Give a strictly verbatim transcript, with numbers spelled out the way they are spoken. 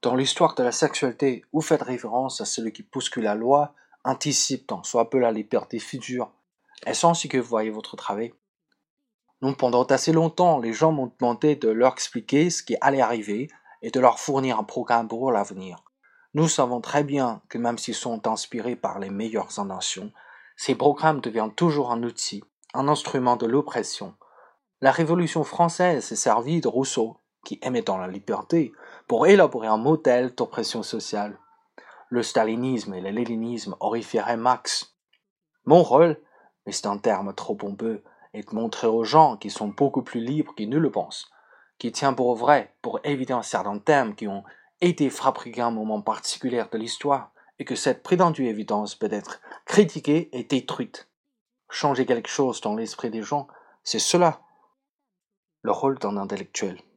Dans l'histoire de la sexualité, vous faites référence à celui qui bouscule la loi, anticipe tant soit peu la liberté future. Est-ce ainsi que vous voyez votre travail? Non, pendant assez longtemps, les gens m'ont demandé de leur expliquer ce qui allait arriver et de leur fournir un programme pour l'avenir. Nous savons très bien que même s'ils sont inspirés par les meilleures inventions, ces programmes deviennent toujours un outil, un instrument de l'oppression. La Révolution française s'est servie de Rousseau, qui aimait dans la liberté, pour élaborer un modèle d'oppression sociale. Le stalinisme et le léninisme horrifieraient Marx. Mon rôle, mais c'est un terme trop pompeux, est de montrer aux gens qu'ils sont beaucoup plus libres qu'ils ne le pensent, qu'ils tiennent pour vrai, pour éviter un certain thème qui ont été fabriqués à un moment particulier de l'histoire, et que cette prétendue évidence peut être critiquée et détruite. Changer quelque chose dans l'esprit des gens, c'est cela le rôle d'un intellectuel.